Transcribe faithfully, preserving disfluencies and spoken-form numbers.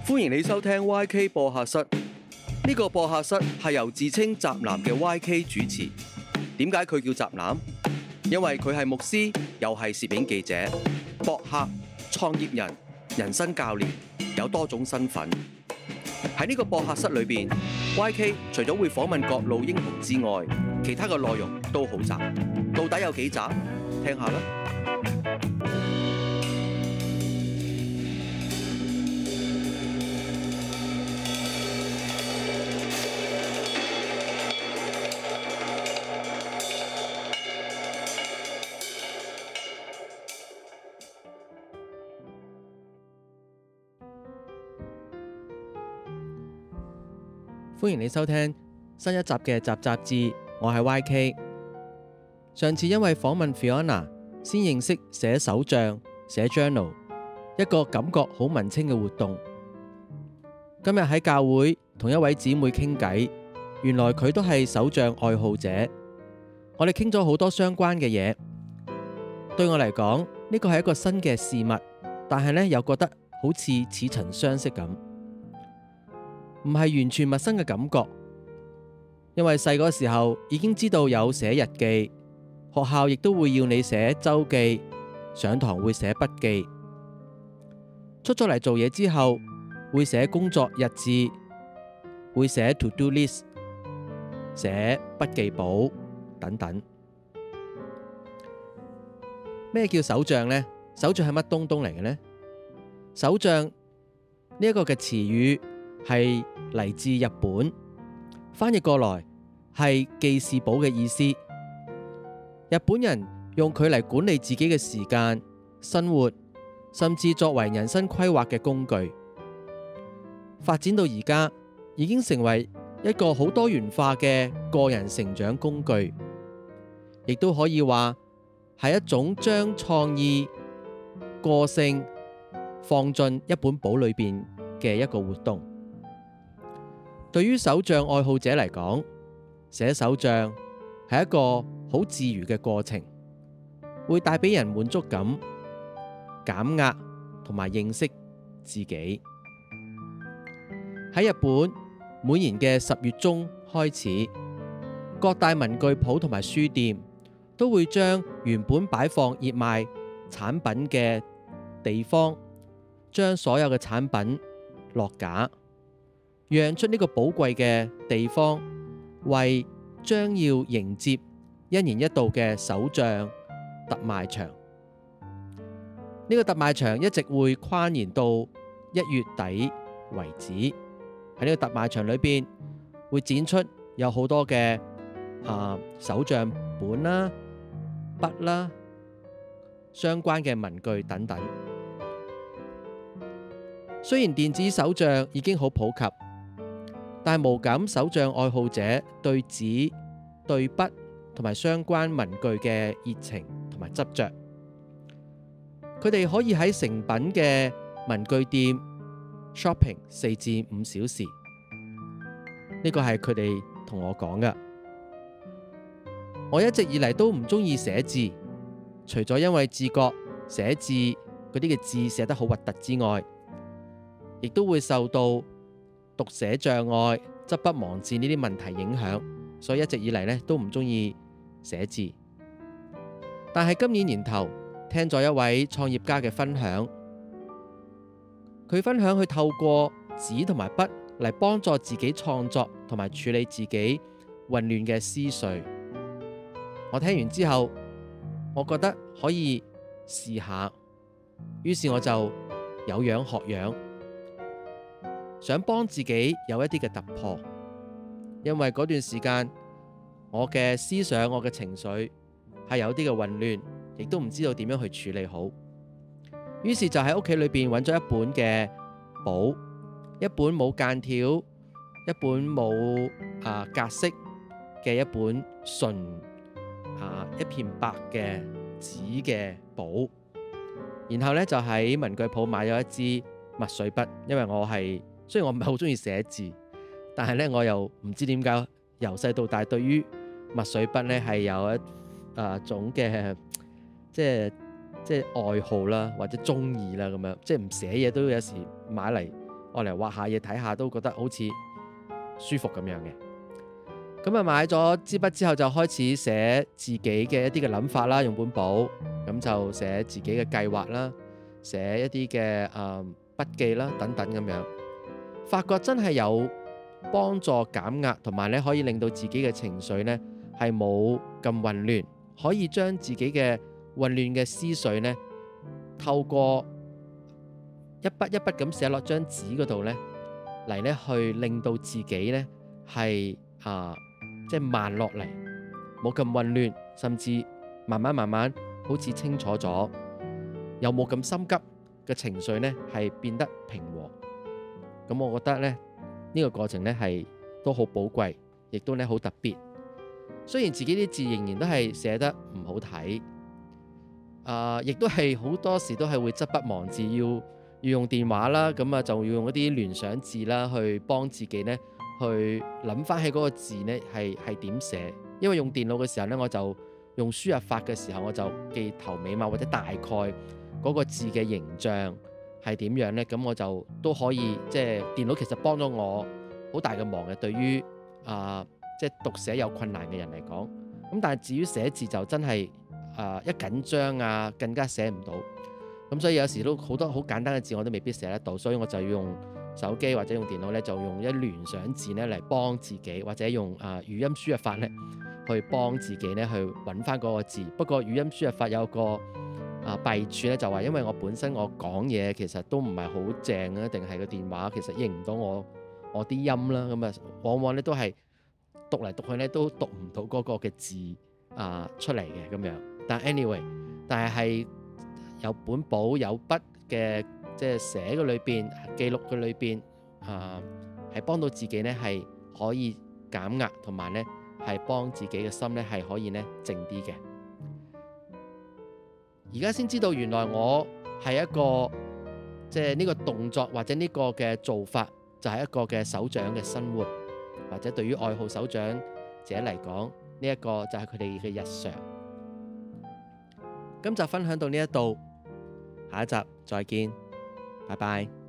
歡迎你收聽 Y K 播客室。呢個播客室係由自稱宅男嘅 Y K 主持。點解佢叫宅男？因為佢係牧師，又係攝影記者、博客、創業人、人生教練，有多種身份。喺呢個播客室裏邊 ，Y K 除咗會訪問各路英雄之外，其他嘅內容都好雜。到底有幾雜？聽下啦。歡迎你收聽新一集嘅集雜誌，我係 Y K。上次因為訪問 Fiona， 先認識寫手帳、寫 journal， 一個感覺好文青嘅活動。今日喺教會同一位姊妹傾偈，原來佢都係手帳愛好者。我哋傾咗好多相關嘅嘢。對我嚟講，呢個係一個新嘅事物，但係呢又覺得好似似曾相識咁。唔係完全陌生嘅感覺，因為細個時候已經知道有寫日記，學校亦都會要你寫週記，上堂會寫筆記。出咗嚟做嘢之後，會寫工作日誌，會寫 to do list， 寫筆記簿等等。咩叫手帳呢？手帳係乜東東嚟嘅呢？手帳呢一個嘅詞語係嚟自日本，翻譯過來係記事簿嘅意思。日本人用佢嚟管理自己嘅時間、生活，甚至作為人生規劃嘅工具。發展到而家，已經成為一個好多元化嘅個人成長工具，亦都可以話係一種將創意、個性放進一本簿裏邊嘅一個活動。對於手帳愛好者嚟講，寫手帳係一個好自如嘅過程，會帶俾人滿足感、減壓同埋認識自己。喺日本，每年嘅十月中開始，各大文具鋪同埋書店都會將原本擺放熱賣產品嘅地方，將所有嘅產品落架，讓出呢個寶貴嘅地方，為將要迎接一年一度嘅手帳特賣場。呢、這個特賣場一直會跨延到一月底為止。喺呢個特賣場裏邊，會展出有好多嘅啊手帳本啦、筆啦、相關嘅文具等等。雖然電子手帳已經好普及，但係無感手帳愛好者對紙、對筆同埋相關文具嘅熱情同埋執着。佢哋可以喺誠品嘅文具店 shopping 四至五小時。呢個係佢哋同我講嘅。我一直以嚟都唔中意寫字，除咗因為自覺寫字嗰啲嘅字寫得好核突之外，亦都會受到讀寫障礙、執筆忘字呢啲問題影響，所以一直以嚟呢都唔中意寫字。但係今年年頭聽咗一位創業家嘅分享，佢分享佢透過紙同埋筆嚟幫助自己創作同埋處理自己混亂嘅思緒。我聽完之後，我覺得可以試下，於是我就有樣學樣，想幫自己有一啲嘅突破。因為嗰段時間我嘅思想、我嘅情緒係有啲嘅混亂，亦都唔知道點樣去處理好。於是就喺屋企裏邊揾咗一本嘅簿，一本冇間條、一本冇啊格式嘅一本純啊一片白嘅紙嘅簿。然後呢，就喺文具鋪買咗一支墨水筆，因為我係雖然我唔係好中意寫字，但係呢，我又唔知點解由細到大對於墨水筆呢係有一啊種嘅即係即係愛好啦，或者中意啦咁樣，即係唔寫嘢都有時買嚟我嚟畫下嘢睇下，都覺得好似舒服咁樣嘅。咁啊買咗支筆之後，就開始寫自己嘅一啲嘅諗法啦，用本簿咁就寫自己嘅計劃啦，寫一啲嘅誒筆記啦等等咁樣，發覺真係有幫助減壓，同埋咧可以令到自己嘅情緒呢係冇咁混亂，可以將自己嘅混亂嘅思緒呢透過一筆一筆咁寫落張紙嗰度呢嚟呢去令到自己呢係啊即係慢落嚟，冇咁混亂，甚至慢慢慢慢好似清楚咗，又冇咁心急嘅情緒呢係變得平和。咁我覺得呢呢個過程呢係都好寶貴，亦都呢好特別。雖然自己啲字仍然都係寫得唔好睇，啊，亦都係好多時都係會執筆忘字，要要用電話啦，咁啊就要用一啲聯想字啦，去幫自己呢去諗翻起嗰個字呢係係點寫。因為用電腦嘅時候呢，我就用輸入法嘅時候，我就記頭尾碼或者大概嗰個字嘅形象係點樣呢，咁我就都可以即係電腦其實幫咗我好大嘅忙嘅，對於啊即係讀寫有困難嘅人嚟講。咁但係至於寫字就真係啊一緊張啊更加寫唔到。咁所以有時都好多好簡單嘅字我都未必寫得到，所以我就要用手機或者用電腦咧，就用一聯想字咧嚟幫自己，或者用啊語音輸入法咧去幫自己咧去揾翻嗰個字。不過語音輸入法有個啊弊處咧，就話因為我本身我講嘢其實都唔係好正啊，定係個電話其實認唔到我我啲音啦，咁啊往往咧都係讀嚟讀去咧都讀唔到嗰個嘅字啊出嚟嘅咁樣。但 anyway， 但係係有本簿有筆嘅，即係寫嘅裏邊記錄嘅裏邊啊，係幫到自己呢係可以減壓，同埋呢係幫自己嘅心呢係可以呢靜啲嘅。而家先知道原來我係一個即係呢個動作或者呢個嘅做法就係一個嘅手掌嘅生活，或者對於愛好手掌者嚟講，呢一個就係佢哋嘅日常。今集分享到呢一度，下一集再見，拜拜。